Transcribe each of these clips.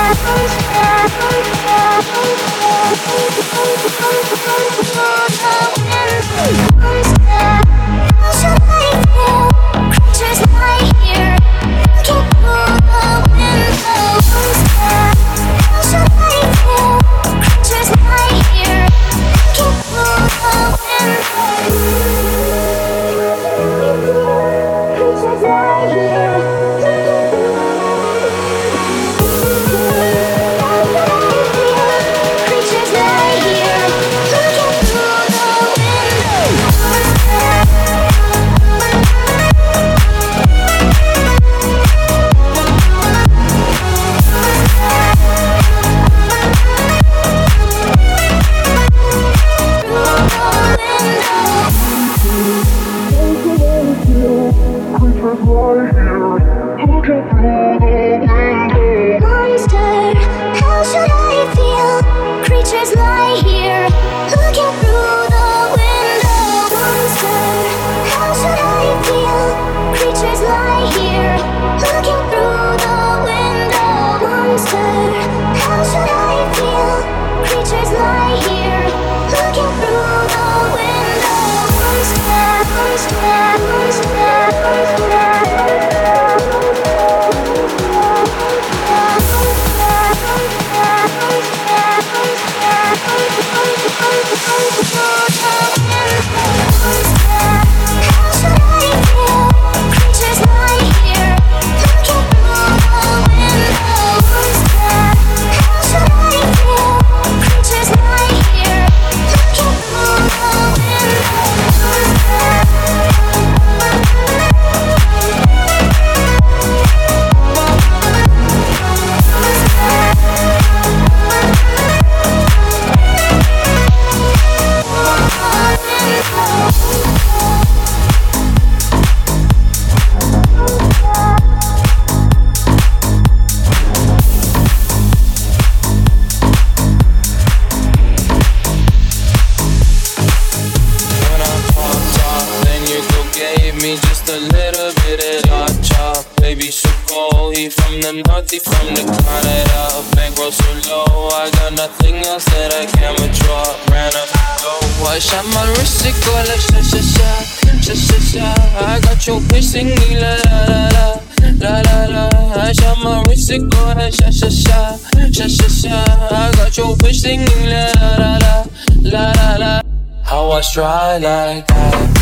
Try like that.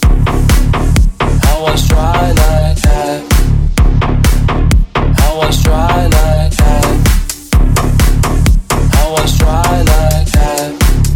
I was try like that. I was try like that. I was try like that.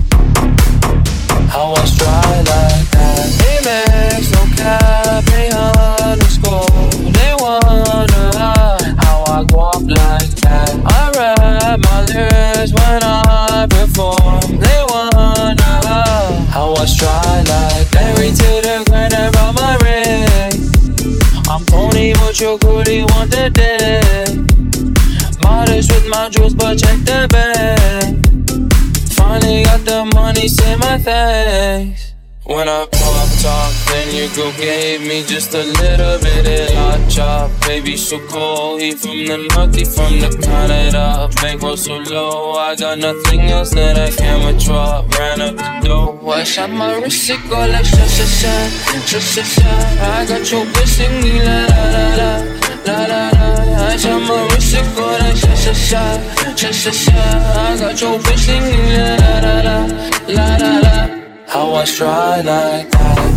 I was try like that. Amex, no cap, _. They wonder how I walk like that. I rap my lyrics when I perform. They wonder how I try like married to the grind around my ring. I'm Tony, but your goodie want the day. Modest with my jewels, but check the bag. Finally got the money, say my thanks. When I pop top, then your girl gave me just a little bit of hot chop. Baby so cold, he from the north, he from the Canada. Bankroll so low, I got nothing else that I can withdraw. Ran up the dough, I shot my wrist, it go like sha sha sha, sha sha sha. I got your bitch singing la la la la, la la la. I shot my wrist, it go like sha sha sha, sha sha sha. I got your bitch singing la la la la, la la la. I was try like that.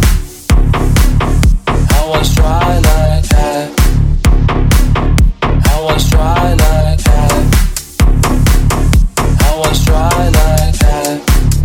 I was try like that. I was try like that. I was try like that.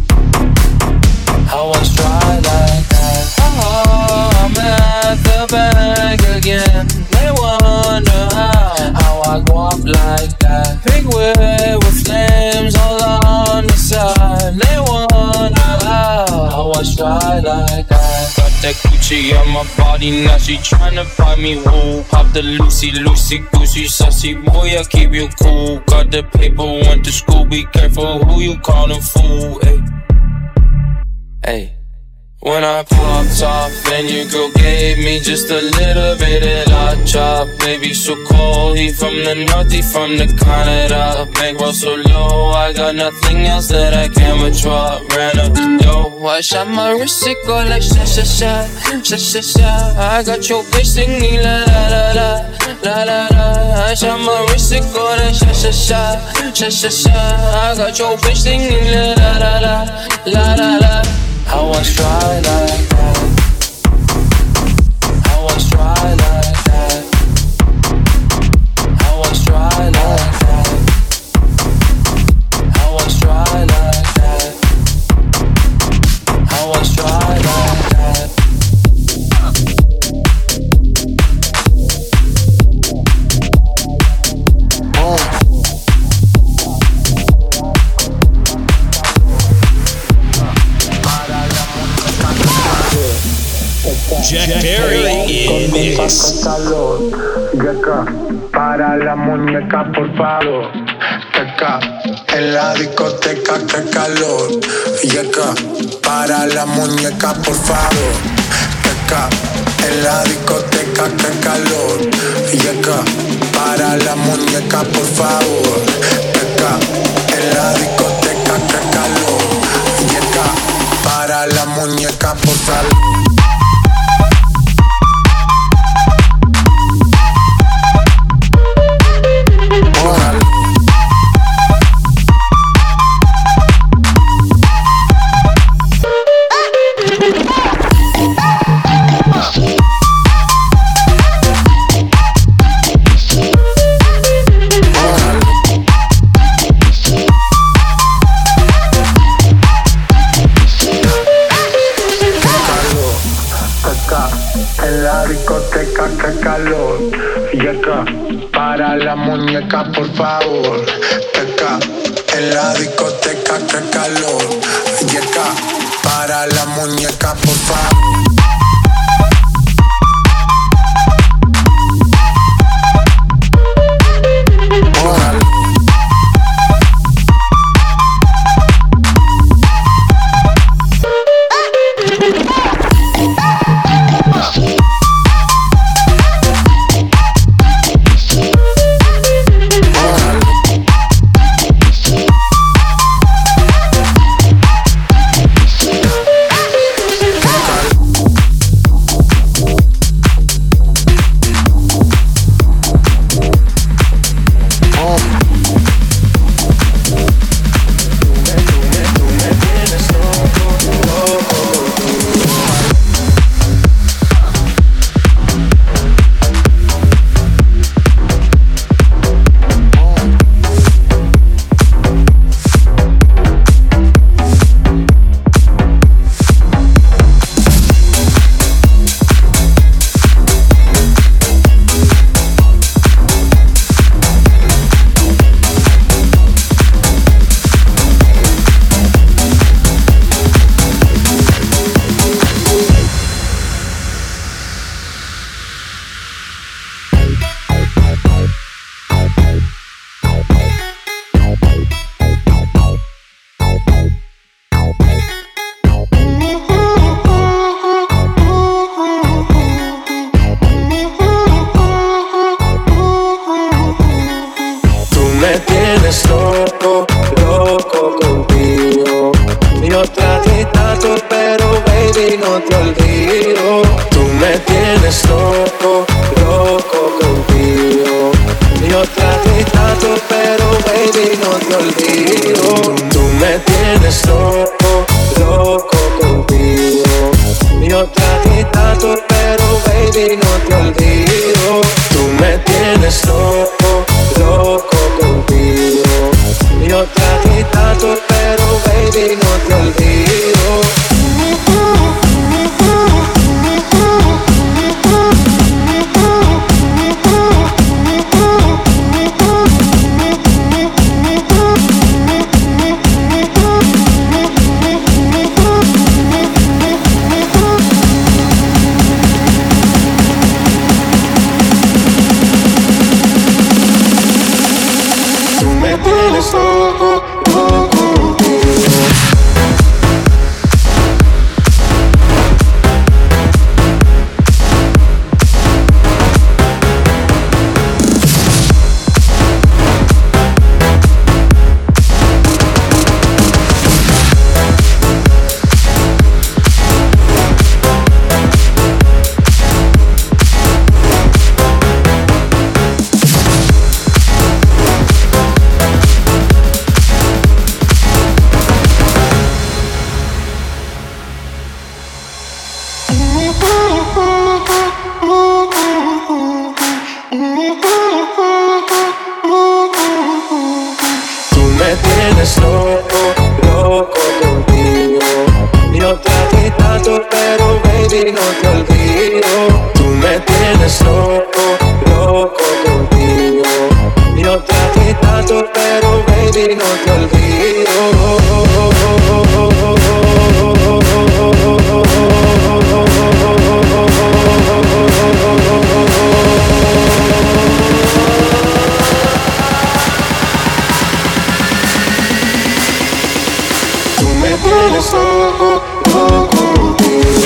I was try like that. Oh, I'm at the bank again. They wonder how I go up like that. Big wheel with flames all on the side. They wonder how I try like that. Got that Gucci on my body, now she tryna buy me wool. Pop the Lucy, goosey, sussy boy, I keep you cool. Got the paper, went to school, be careful who you callin' fool. Hey, When I popped off and your girl gave me just a little bit of la chop. Baby so cold, he from the north, he from the Canada. Bankroll so low, I got nothing else that I can withdraw. Ran up the dough, I shot my wrist, it go like sha sha sha, sha sha sha. I got your bitch singing la la la la, la la la. I shot my wrist, it go like sha sha sha, sha sha sha. I got your bitch singing la la la la, la la la. I was dry like that. I was dry like that. I was dry like that. I was dry like that. I was dry like that. Jack Perry in mix. Yeca, para la muñeca por favor. Yeca, en la discoteca que calor. Yeca, para la muñeca por favor. Yeca, en la discoteca que calor. Yeca, para la muñeca por favor. Yeca, en la discoteca que calor. Yeca, para la muñeca por favor. En la discoteca que calor. Yeca, para la muñeca por favor. Yeca, en la discoteca que calor. Yeca, para la muñeca por favor. Tú me tienes loco, loco contigo. Yo te di tanto, pero baby no te olvido. Tú me tienes loco, loco contigo. Yo te di tanto, pero baby no te olvido. Tú me tienes loco, loco contigo.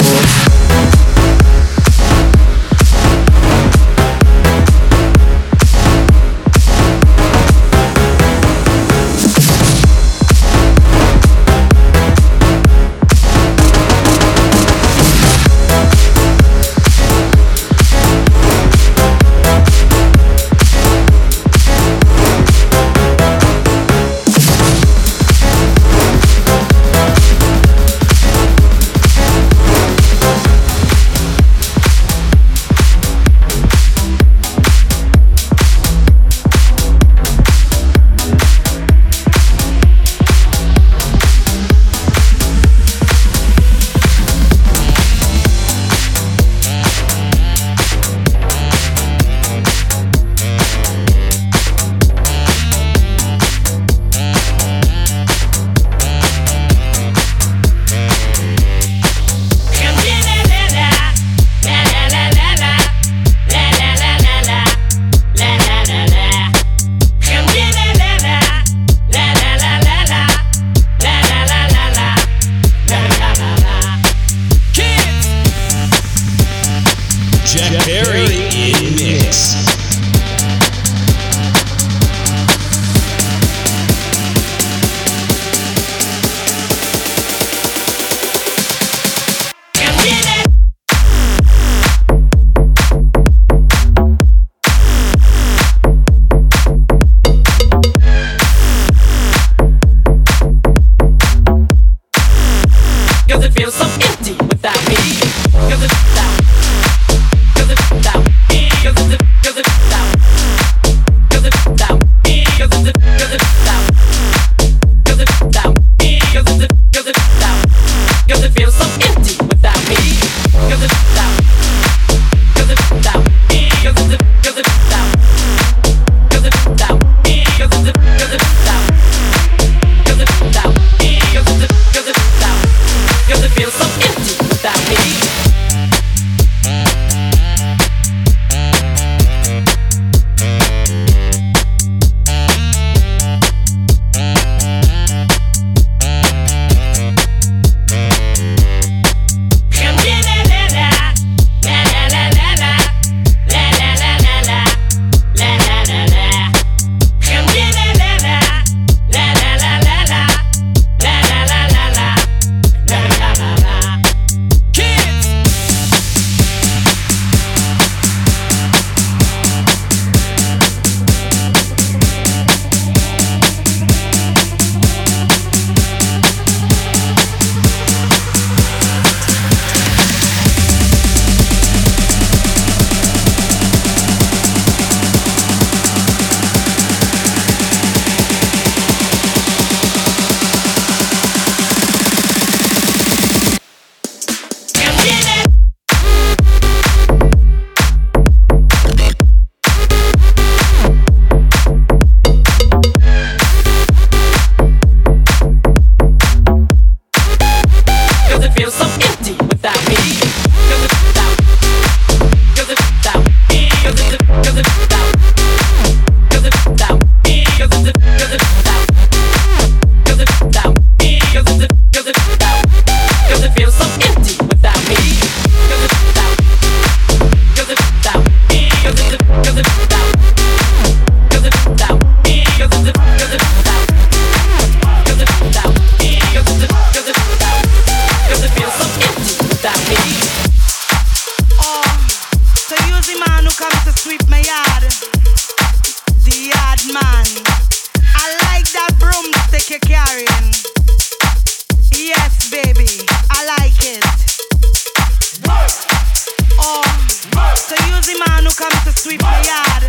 come to sweep my yard.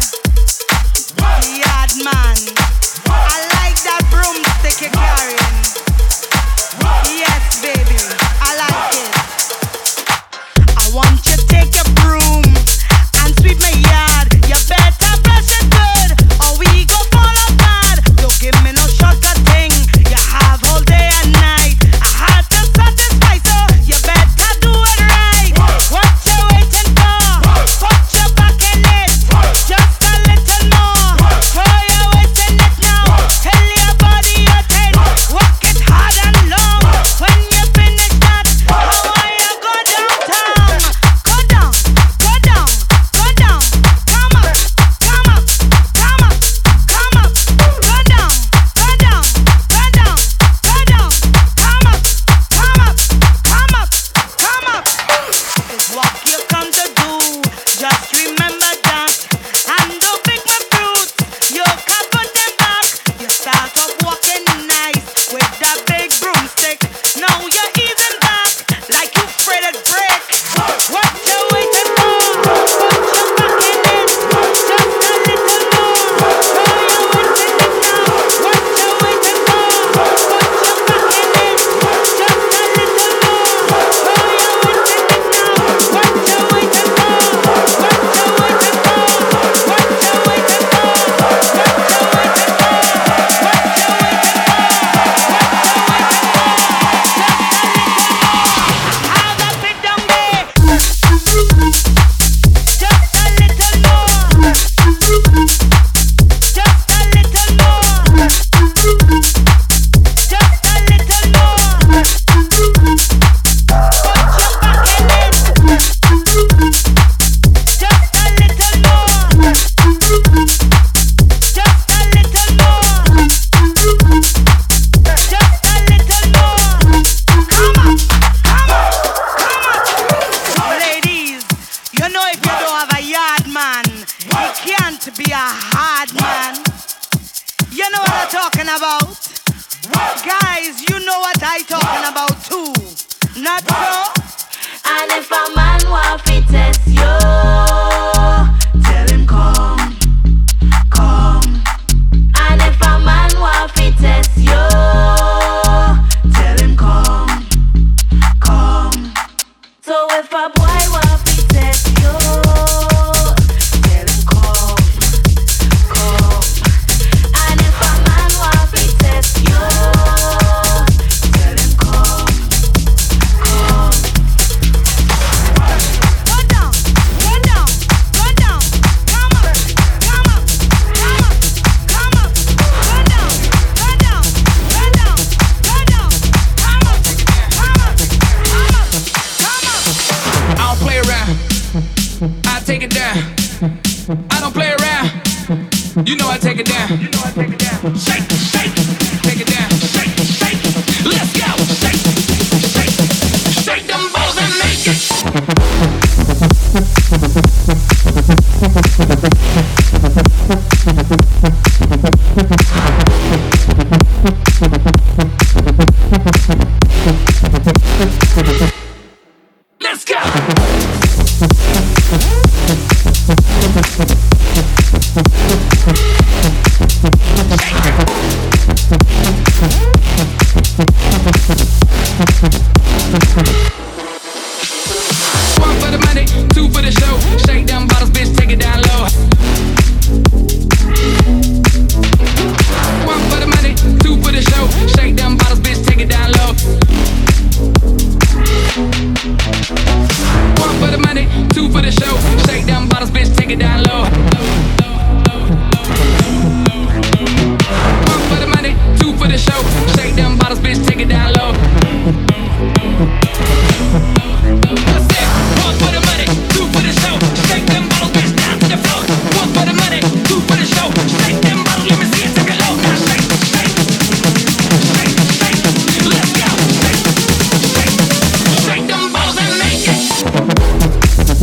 talking about? Guys, you know what I talking about too. Not so? And if a man want to test you, tell him come, come. and if a man want to test you, Tell him come, come. so if a boy want to test you, Tell him come, come. and if a man want to test you, Tell him come, come. Go down, go down, go down. Come up, come up, come up, come up. Go down, go down, go down, go down. Come up, come up, come up, come up. I don't play around. I take it down. I don't play around. You know I take it down. Shake, shake, take it down. Shake, shake, let's go. Shake, shake, shake them balls and make it. Let's go. One for the money, two for the show. Shake them bottles, bitch, take it down low. One for the money, two for the show. Shake them bottles, bitch, take it down low. One for the money, two for the show. Shake them bottles, bitch, take it down low. One for the money, two for the show. Shake them bottles, bitch, take it down low. What's that? One for the money, two for the show. Shake them bottles, bitch, down to the floor. One for the money, two for the show. Shake them bottles, let me see it, take it low. Now shake, shake, shake, shake, let's go. Shake, shake, shake them bottles and make it.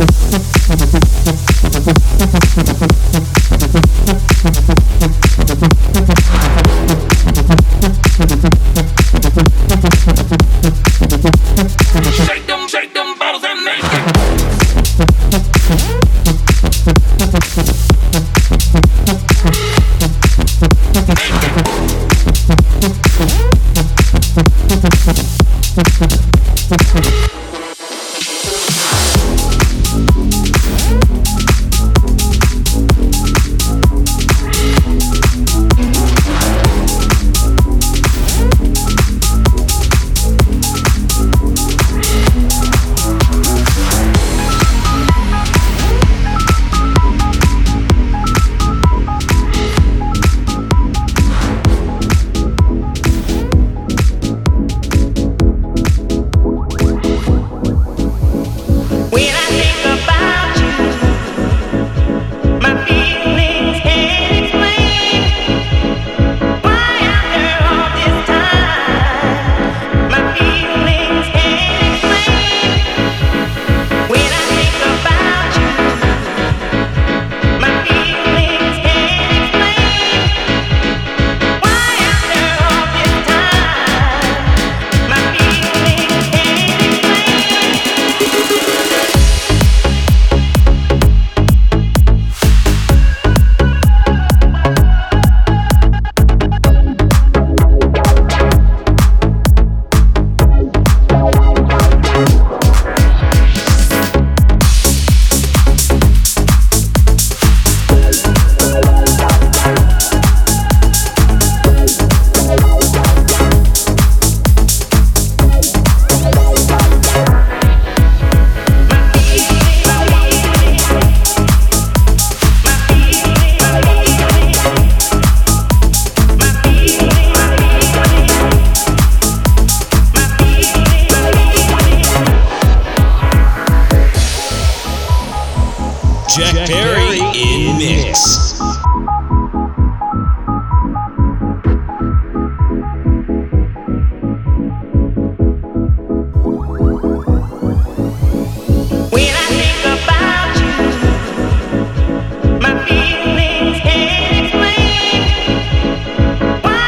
Shake them bottles and make it. Jack Perry in mix. my feelings can't explain why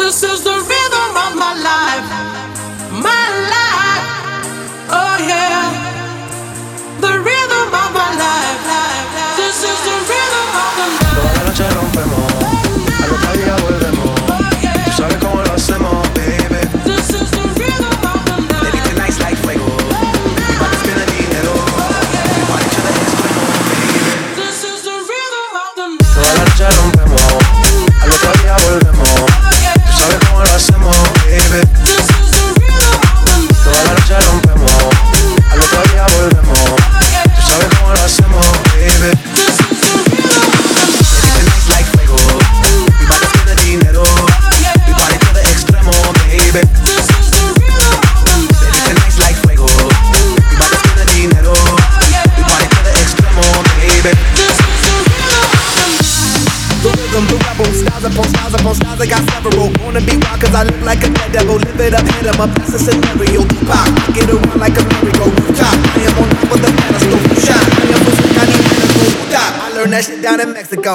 This is the rhythm of my life. My life. Oh yeah. The rhythm of my life. This is the rhythm of the night. Toda la noche rompemos, al otro día volvemos. Tú sabes cómo lo hacemos, baby. This is the rhythm of the night. Baby, tonight's like fuego. Mi party tiene dinero. Mi party to the extremo, baby. This is the rhythm of the night. Toda la noche rompemos, al otro día volvemos. Tú sabes cómo lo hacemos, baby. This is the rhythm of the night. Toda la noche rompemos, al otro día volvemos. Tú sabes cómo lo hacemos, baby. This is the rhythm of the night. Baby, tonight's like fuego. Mi party tiene dinero. Mi party to the extremo, baby. This is the rhythm of the night. Baby, tonight's like fuego. Mi party tiene dinero. Mi party to the extremo, baby. This is the rhythm of the night. The rhythm, the rebel, styles upon styles upon styles, I got several. Wanna be wild cause I look like a dead devil. Live it up, hit 'em up, that's a scenario. Tupac, get around like a merry-go rooftop. I am on top of the pedestal, shine. I am so I need medical stop. I learned that shit down in Mexico.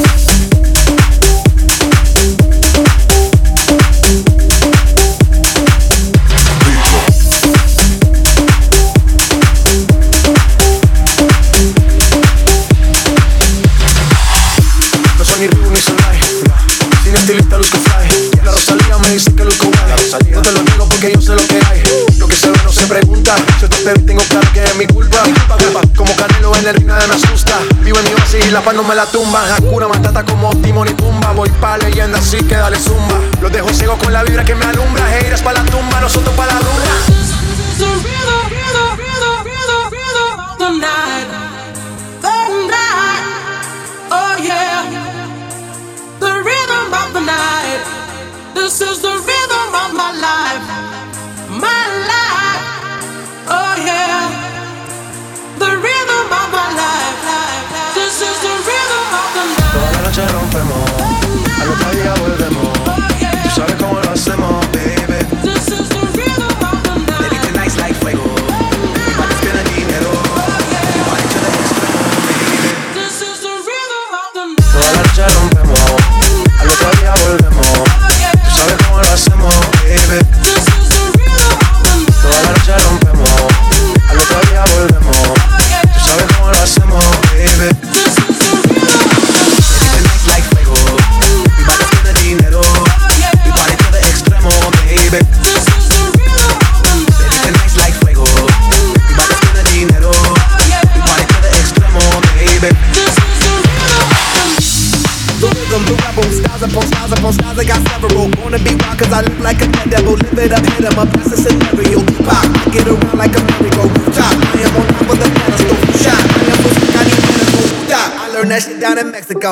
No soy ni Ribu ni Solay, sin estilista luzco fly. La Rosalía me dice que luzco guay. No te lo digo porque yo sé lo que hay. Lo que se ve no se pregunta. Si esto te vi tengo claro que es mi culpa. Como Canelo en el ring nadie me asusta. Vivo en mi oasis y la paz no me la tumba. Hakuna Matata como Timon y Pumba. Voy pa' leyenda así que dale zumba. Los dejo ciego con la vibra que me alumbra. Heiras pa' la tumba, nosotros pa' la rumba. The rhythm, rhythm, rhythm, rhythm, rhythm of the night. The night. Oh yeah. The rhythm of the night. This is the rhythm of my life. My life. Oh yeah. The rhythm of my life. This is the rhythm of the night. Toda la noche rompemos, al otro día volvemos. Tú sabes cómo lo hacemos, baby. This is the rhythm of the night. Baby, tonight's like fuego. Mi party tiene dinero. Mi party to the extremo, baby. This is the rhythm of the night. Toda la noche rompemos, al otro día volvemos. Tú sabes cómo lo hacemos, baby. This is the rhythm of the night. Toda la noche rompemos, al otro día volvemos. Tú sabes cómo lo hacemos, baby. This is the rhythm of the night. Baby, tonight's like fuego. Mi party tiene dinero. Mi party to the extremo, baby. This is the rhythm of the night. Baby, tonight's like fuego. Mi party tiene dinero. Mi party to the extremo, baby. This is the rhythm of the night. The rhythm, the rebel, styles upon styles upon styles, I got several. Wanna be wild cause I look like a dead devil. Live it up, hit 'em up, that's a scenario. Tupac, get around like a merry-go rooftop. I am on top of the pedestal, shine. I am so I need medical stop. I learned that shit down in Mexico.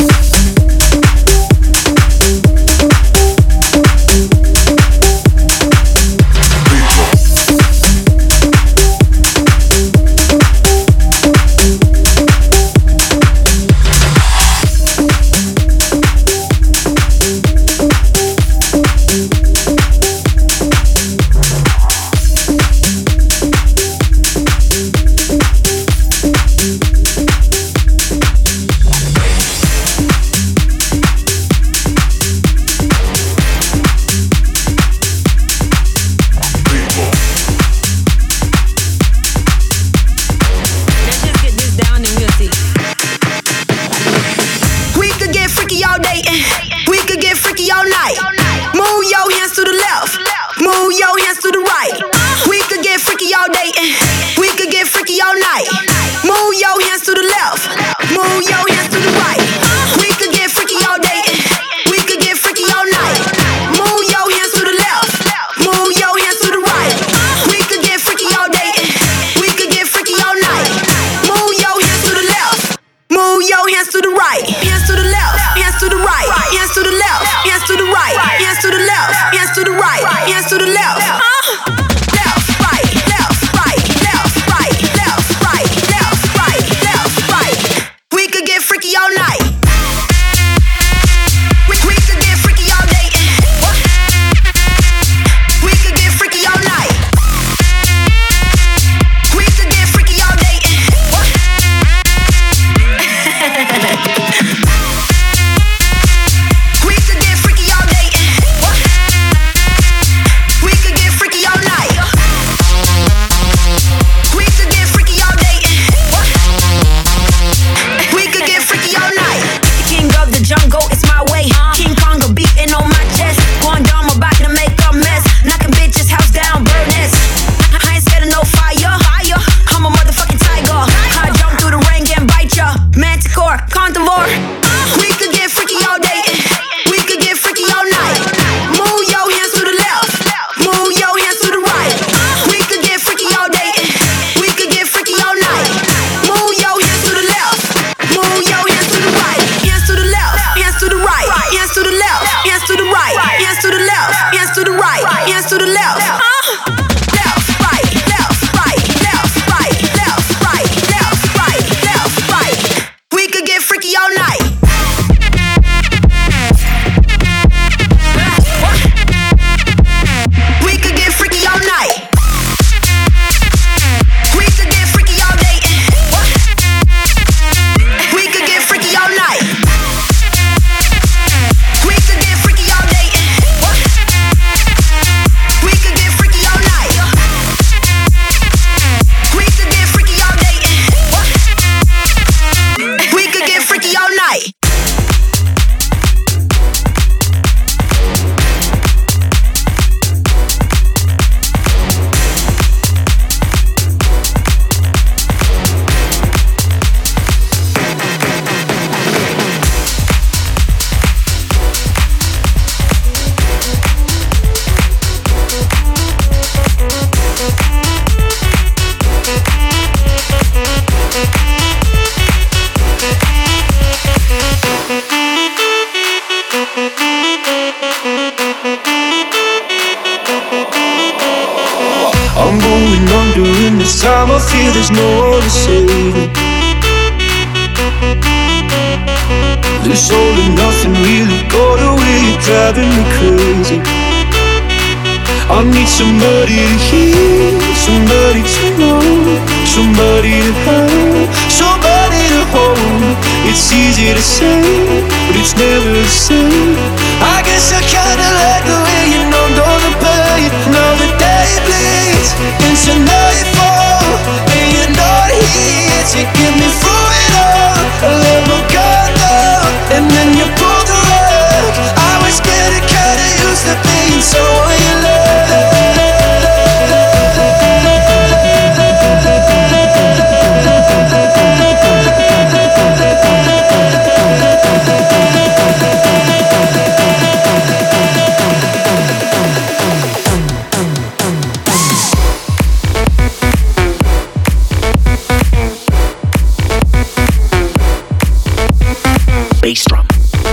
Let's just get this down and we'll see. We could get freaky all day and we could get freaky all night. Move your hands to the left, move your hands to the right. We could get freaky all day and we could get freaky all night. Move your hands to the left, move your hands to the right. We could get freaky all day and we could get freaky all night. Move your hands to the left, move your hands to the right. We could get freaky all day and we could get freaky all night. Move your hands to the left, move your hands to the right. Hands to the left, hands to the right, hands to the left, hands to the right, hands to the left, hands to the right, hands to the left. Left, right, left, right, left, right, left, right, left, right, left, right. We could get freaky all night. We could get freaky all day. We could get freaky all night. We could get freaky all day. We could get freaky all day. I'm going under, and this time I feel there's no one to save me. This all and nothing really got away, you're driving me crazy. I need somebody to hear, somebody to know, somebody to have, somebody to hold. It's easy to say, but it's never the same. I guess I kinda like the way you numbed all the pain. Now the day bleeds into nightfall, and you're not here to get me through it all. I let my guard down, and then you pulled the rug. I was getting kinda used to being someone you love. Bass drum.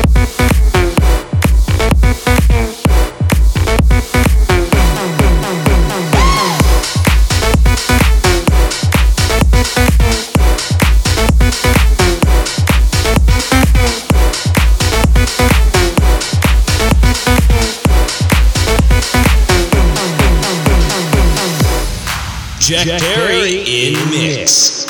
Jack Perry in mix.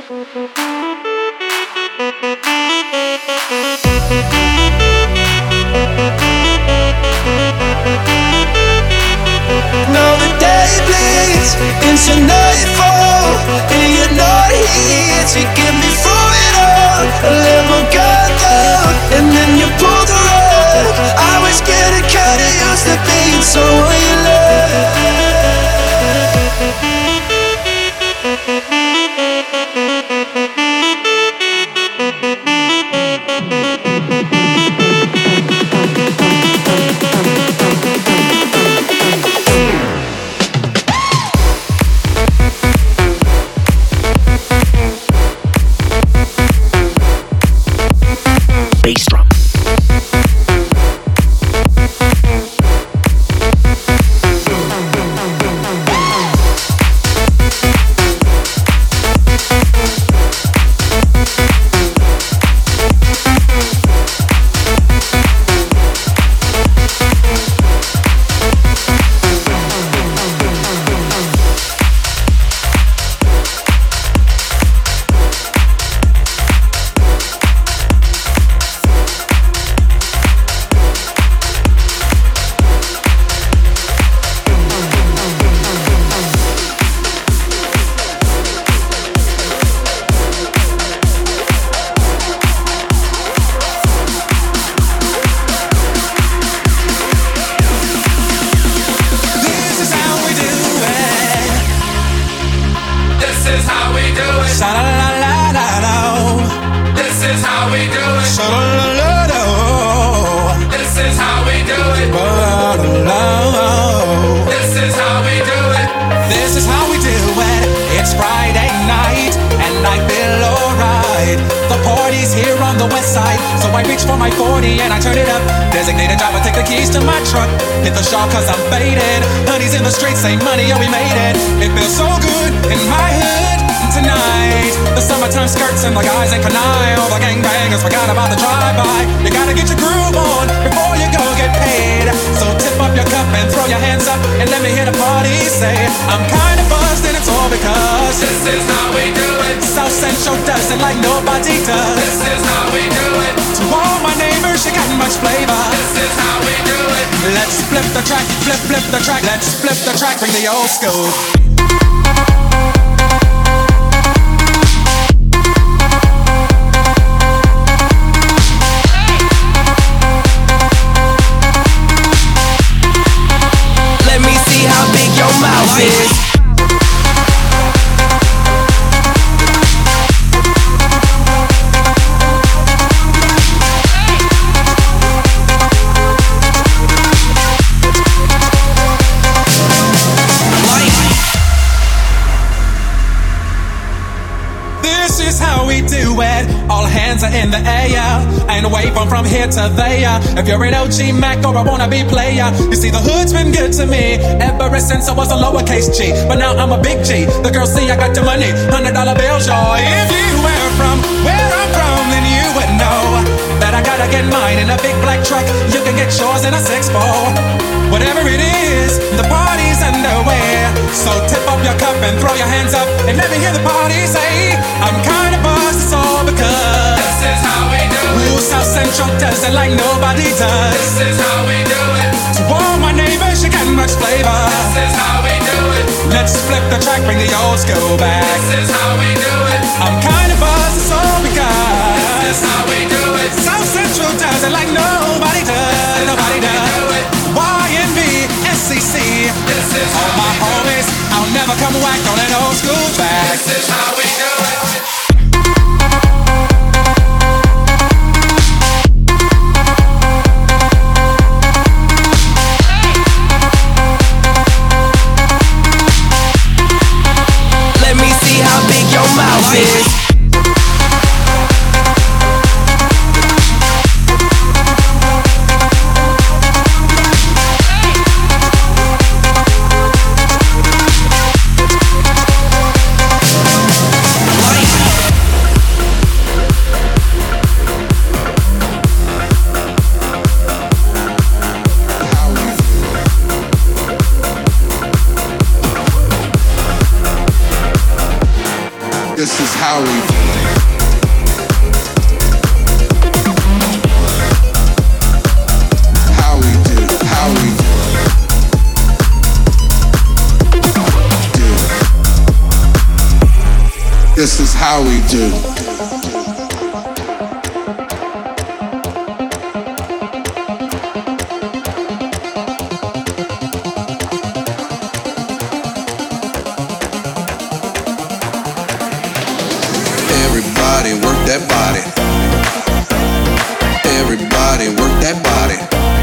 Now the day bleeds into nightfall, and you're not here to get me through it all. I let my guard down, and then you pulled the rug. I was getting kinda used to being someone you love. Bass drum. Bring the old school. Let me see how big your mouth is. In the air, and wave on from here to there. If you're an OG Mac or a wannabe player, you see the hood's been good to me ever since I was a lowercase G. But now I'm a big G. The girls see I got the money, $100 bills, y'all. If you were from where I'm from, then you would know that I gotta get mine in a big black truck. You can get yours in a 6-4. Whatever it is, the party's underway. So tip up your cup and throw your hands up and let me hear the party say, I'm kinda buzzed, it's all because this is how we do it. Ooh, South Central does it like nobody does. This is how we do it. To all my neighbors, you got much flavor. This is how we do it. Let's flip the track, bring the old school back. This is how we do it. I'm kinda buzzed, it's all because this is how we do it. South Central does it like nobody does. Nobody does. YNB, SCC. This is all my homies. I'll never come whack on an old school track. This is how we do it. Let me see how big your mouth is. This is how we do it. How we do, how we do it. Do it. This is how we do. Everybody work that body. Everybody work that body.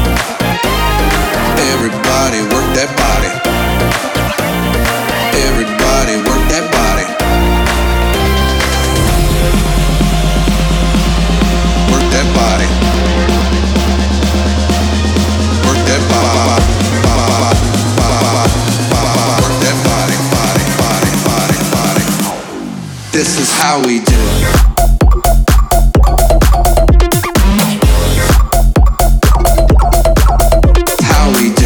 Everybody work that body. Everybody work that body. Work that body. Work that body. Work that body, body, body, body, body. This is how we do. How we do.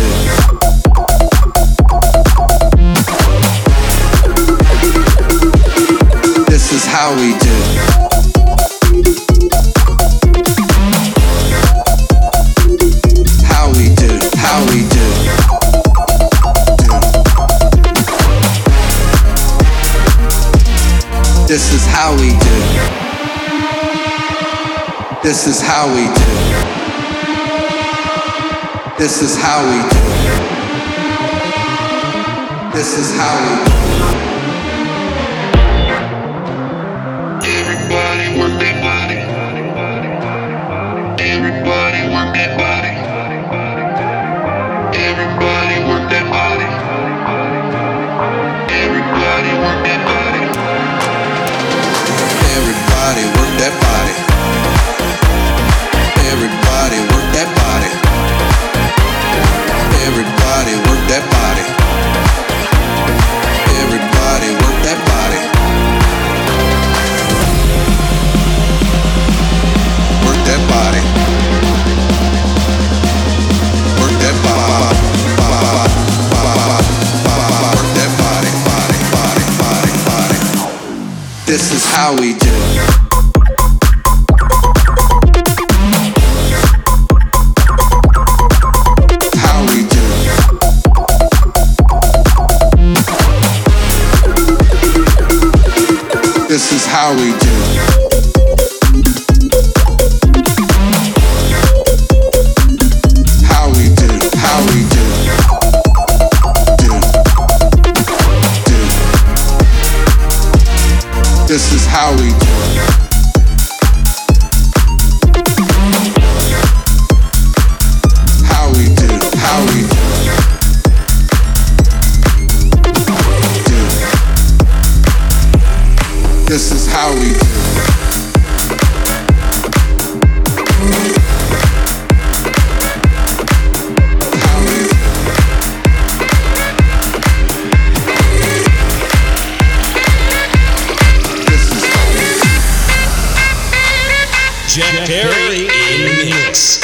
This is how we do. How we do. How we do. This is how we do. This is how we do. This is how we do. This is how we do. Everybody work their body. Everybody work their body. Everybody work their body. Everybody work their body. Everybody work that body. Everybody work that body. Everybody work that body. Everybody work that body. Work that body. Work that body. Work that body, body, body, body, body. This is how we do. How we do. This is how we do. How we do. How we do. Do. This is how we do. How we do. How we do. This is how we do. Perry in the mix.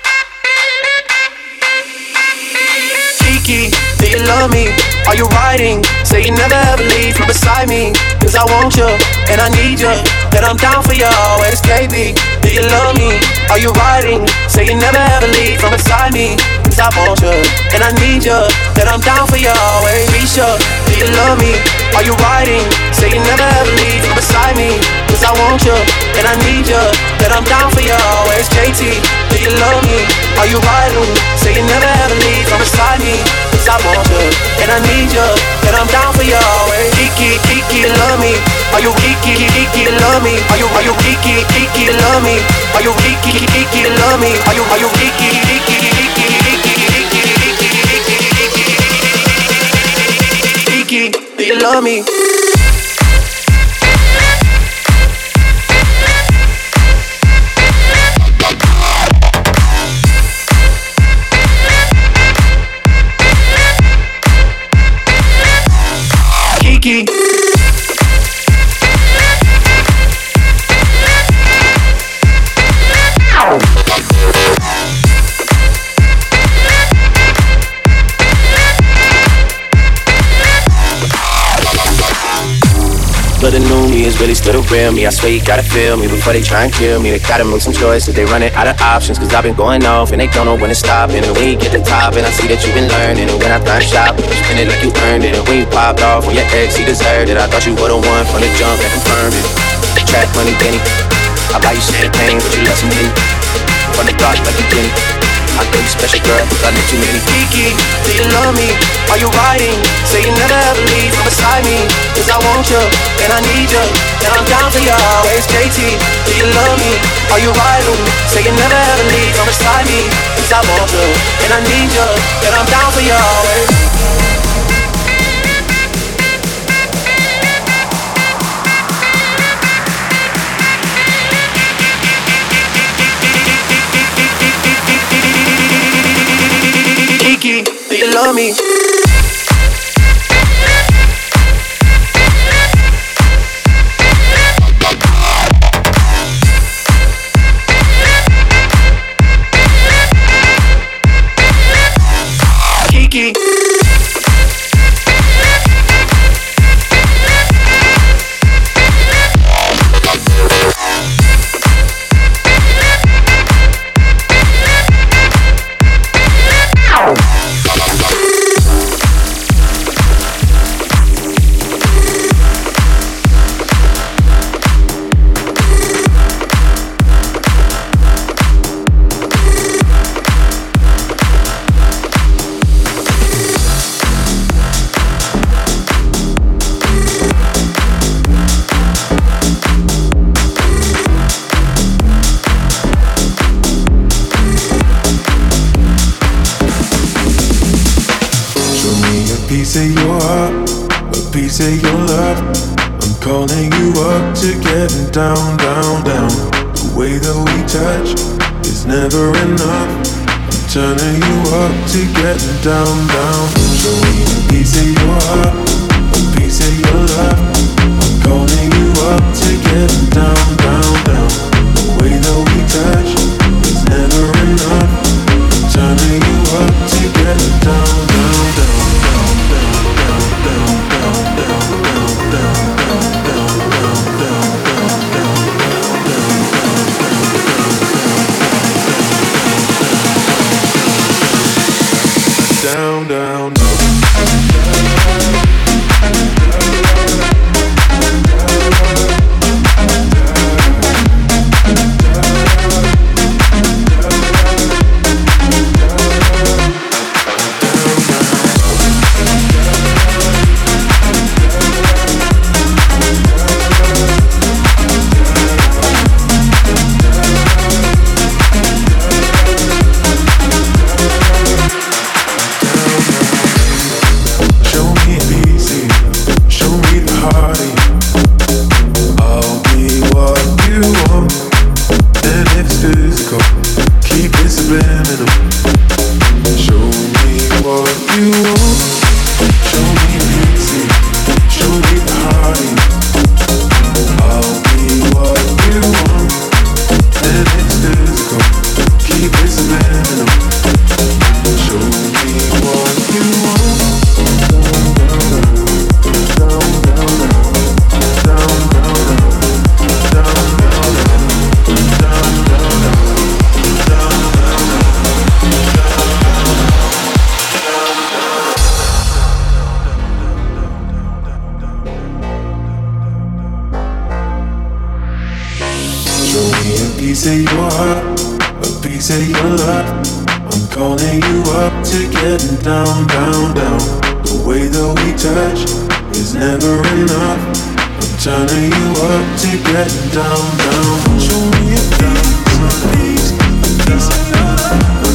Kiki, do you love me? Are you riding? Say you never ever leave from beside me. Cause I want you, and I need you, and I'm down for you always, KB. Do you love me? Are you riding? Say you never ever leave from beside me. Cause I want you, and I need you, and I'm down for you always. Risha, do you love me? Are you riding? Say you never ever leave from beside me. Cause I want you, and I need you, and I'm down for you always. JT, do you love me? Are you riding? Say you never ever leave from beside me. Cause I want you, and I need you, and I'm down for you always. Kiki, Kiki, you love me? Are you Kiki, Kiki, you love me? Are you Kiki, Kiki, you love me? Are you Kiki, Kiki, you love me? Are you Kiki, Kiki, Kiki, do you love me? Kiki. But the new me is really still the real me. I swear you gotta feel me before they try and kill me. They gotta make some choices, they running out of options. Cause I've been going off and they don't know when to stop. And when you get the top and I see that you've been learning. And when I climb shop, you spend it like you earned it. And when you popped off on your ex, he deserved it. I thought you would've won from the jump and confirmed it. Trap money, Benny, I buy you champagne, but you love some Henny. From the block like a Jenny, I know you special girl, I know too many. Kiki, do you love me? Are you riding? Say you never ever leave from beside me. Cause I want you, and I need you, and I'm down for you always. JT, do you love me? Are you riding? Say you never ever leave from beside me. Cause I want you, and I need you, and I'm down for you always. Kiki, do you love me? Kiki. piece of your heart, a piece of your love. I'm calling you up to getting down, down, down. The way that we touch is never enough. I'm turning you up to getting down, down. Show me a piece of your heart, a piece of your love. I'm calling you up to getting down, down, down. The way that we touch is never enough. I'm turning you up to getting down, down, down. Down, down, down. piece of your heart, a piece of your love. I'm calling you up to getting down, down, down. The way that we touch is never enough. I'm turning you up to getting down, down. Show me a piece of your love.